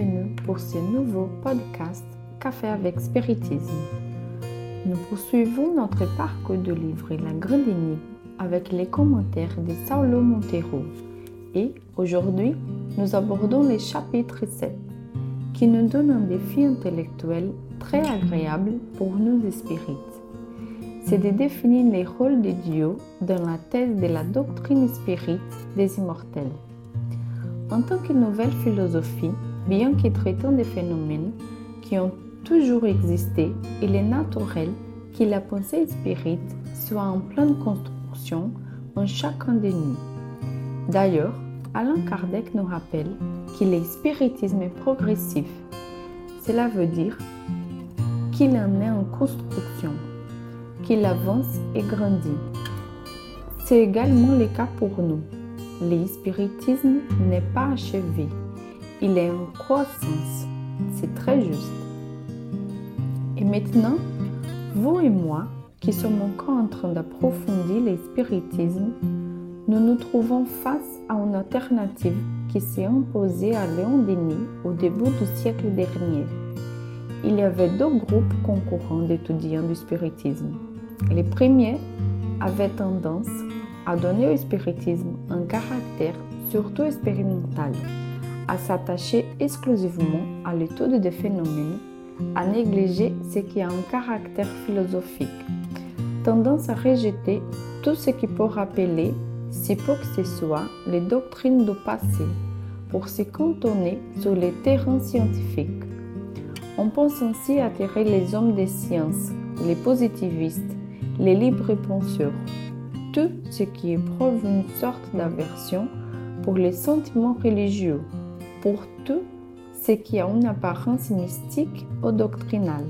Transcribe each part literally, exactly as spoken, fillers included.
bienvenue pour ce nouveau podcast Café avec Spiritisme. Nous poursuivons notre parcours de livre La Grande Énigme avec les commentaires de Saulo Monteiro et aujourd'hui nous abordons le chapitre sept qui nous donne un défi intellectuel très agréable pour nous spirites. C'est de définir les rôles de Dieu dans la thèse de la doctrine spirite des immortels. En tant que nouvelle philosophie, bien que traitant des phénomènes qui ont toujours existé, il est naturel que la pensée spirite soit en pleine construction en chacun de nous. D'ailleurs, Allan Kardec nous rappelle que le spiritisme est progressif. Cela veut dire qu'il en est en construction, qu'il avance et grandit. C'est également le cas pour nous. Le spiritisme n'est pas achevé, il est en croissance. C'est très juste. Et maintenant, vous et moi, qui sommes encore en train d'approfondir le spiritisme, nous nous trouvons face à une alternative qui s'est imposée à Léon Denis au début du siècle dernier. Il y avait deux groupes concurrents d'étudiants du spiritisme. Les premiers avaient tendance à donner au spiritisme un caractère surtout expérimental, à s'attacher exclusivement à l'étude des phénomènes, à négliger ce qui a un caractère philosophique, tendance à rejeter tout ce qui peut rappeler, si peu que ce soit, les doctrines du passé, pour se cantonner sur les terrains scientifiques. On pense ainsi attirer les hommes des sciences, les positivistes, les libres penseurs, tout ce qui éprouve une sorte d'aversion pour les sentiments religieux, pour tout ce qui a une apparence mystique ou doctrinale.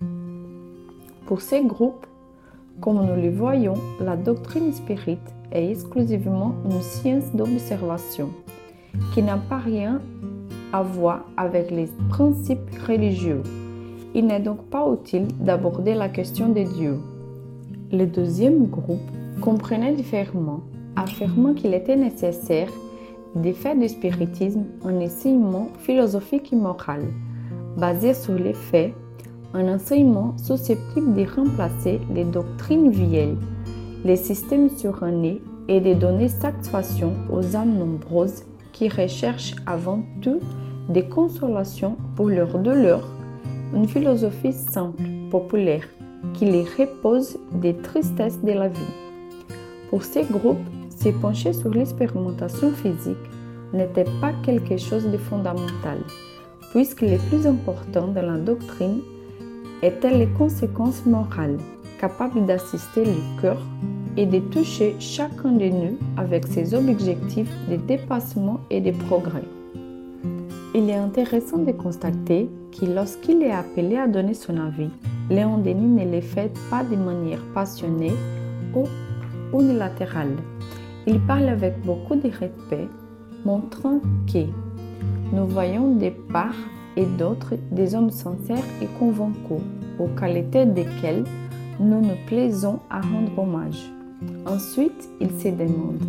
Pour ces groupes, comme nous le voyons, la doctrine spirite est exclusivement une science d'observation qui n'a pas rien à voir avec les principes religieux. Il n'est donc pas utile d'aborder la question de Dieu. Le deuxième groupe comprenait différemment, affirmant qu'il était nécessaire de faire du spiritisme un enseignement philosophique et moral, basé sur les faits, un enseignement susceptible de remplacer les doctrines vieilles, les systèmes surannés et de donner satisfaction aux âmes nombreuses qui recherchent avant tout des consolations pour leurs douleurs, une philosophie simple, populaire, qui les repose des tristesses de la vie. Pour ces groupes, se pencher sur l'expérimentation physique n'était pas quelque chose de fondamental, puisque le plus important dans la doctrine étaient les conséquences morales, capables d'assister le cœur et de toucher chacun de nous avec ses objectifs de dépassement et de progrès. Il est intéressant de constater que lorsqu'il est appelé à donner son avis, Léon Denis ne le fait pas de manière passionnée ou unilatérale. Il parle avec beaucoup de respect, montrant que nous voyons de part et d'autre des hommes sincères et convaincus, aux qualités desquelles nous nous plaisons à rendre hommage. Ensuite, il se demande: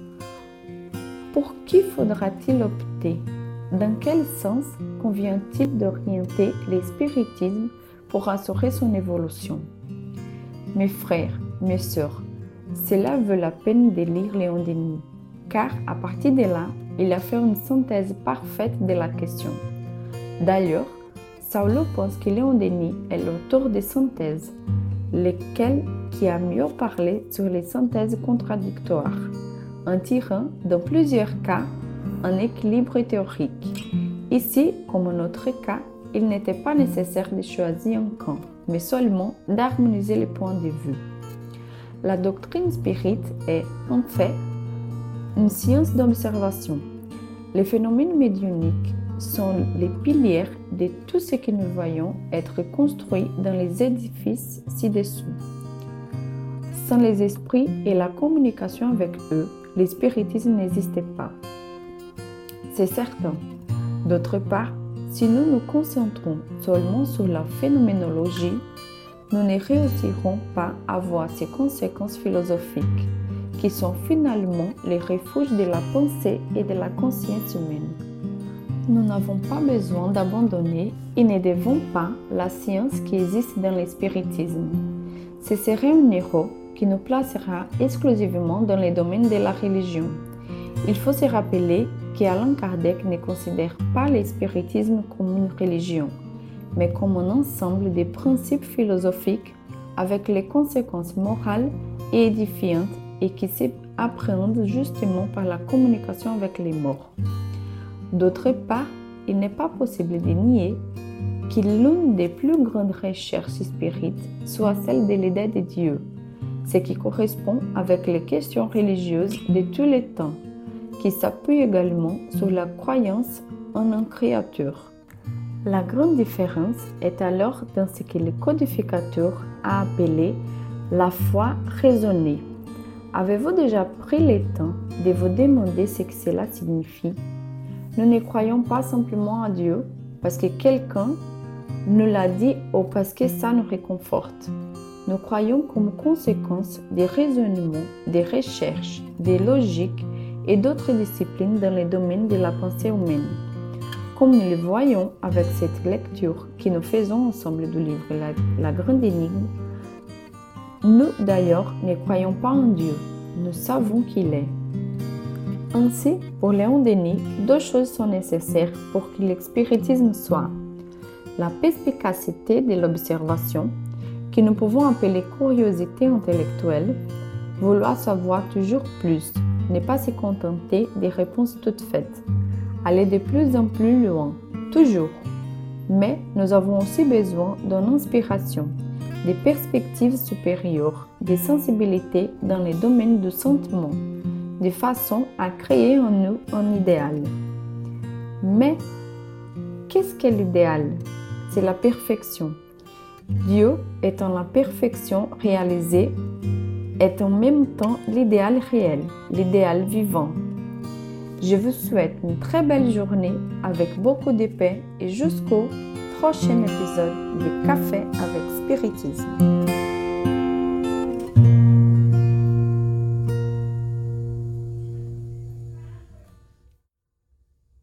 pour qui faudra-t-il opter? Dans quel sens convient-il d'orienter le spiritisme pour assurer son évolution? Mes frères, mes sœurs, cela vaut la peine de lire Léon Denis, car à partir de là, il a fait une synthèse parfaite de la question. D'ailleurs, Saulo pense que Léon Denis est l'auteur des synthèses, lesquelles qui a mieux parlé sur les synthèses contradictoires, en tirant dans plusieurs cas un équilibre théorique. Ici, comme en notre cas, il n'était pas nécessaire de choisir un camp, mais seulement d'harmoniser les points de vue. La doctrine spirite est, en fait, une science d'observation. Les phénomènes médiumniques sont les piliers de tout ce que nous voyons être construit dans les édifices ci-dessous. Sans les esprits et la communication avec eux, le spiritisme n'existait pas. C'est certain. D'autre part, si nous nous concentrons seulement sur la phénoménologie, nous ne réussirons pas à voir ces conséquences philosophiques, qui sont finalement les refuges de la pensée et de la conscience humaine. Nous n'avons pas besoin d'abandonner et ne devons pas la science qui existe dans le spiritisme. Ce serait une erreur qui nous placera exclusivement dans le domaine de la religion. Il faut se rappeler qu'Allan Kardec ne considère pas le spiritisme comme une religion, mais comme un ensemble de principes philosophiques avec les conséquences morales et édifiantes et qui s'appréhendent justement par la communication avec les morts. D'autre part, il n'est pas possible de nier que l'une des plus grandes recherches spirites soit celle de l'idée de Dieu, ce qui correspond avec les questions religieuses de tous les temps, qui s'appuient également sur la croyance en un créateur. La grande différence est alors dans ce que le codificateur a appelé la foi raisonnée. Avez-vous déjà pris le temps de vous demander ce que cela signifie? Nous ne croyons pas simplement à Dieu parce que quelqu'un nous l'a dit ou parce que ça nous réconforte. Nous croyons comme conséquence des raisonnements, des recherches, des logiques et d'autres disciplines dans le domaine de la pensée humaine. Comme nous le voyons avec cette lecture que nous faisons ensemble du livre La, la Grande Énigme, nous d'ailleurs ne croyons pas en Dieu, nous savons qu'il est. Ainsi, pour Léon Denis, deux choses sont nécessaires pour que le spiritisme soit la perspicacité de l'observation, que nous pouvons appeler curiosité intellectuelle, vouloir savoir toujours plus, ne pas se contenter des réponses toutes faites, aller de plus en plus loin, toujours. Mais nous avons aussi besoin d'une inspiration, des perspectives supérieures, des sensibilités dans les domaines du sentiment, de façon à créer en nous un idéal. Mais qu'est-ce qu'est l'idéal? C'est la perfection. Dieu étant la perfection réalisée est en même temps l'idéal réel, l'idéal vivant. Je vous souhaite une très belle journée avec beaucoup de paix et jusqu'au prochain épisode de Café avec Spiritisme.